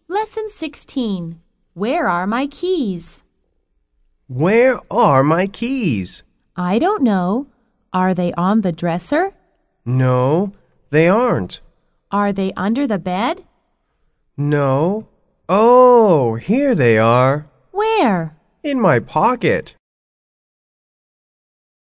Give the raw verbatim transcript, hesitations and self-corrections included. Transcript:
Lesson sixteen. Where are my keys? Where are my keys? I don't know. Are they on the dresser? No, they aren't. Are they under the bed? No. Oh, here they are. Where? In my pocket.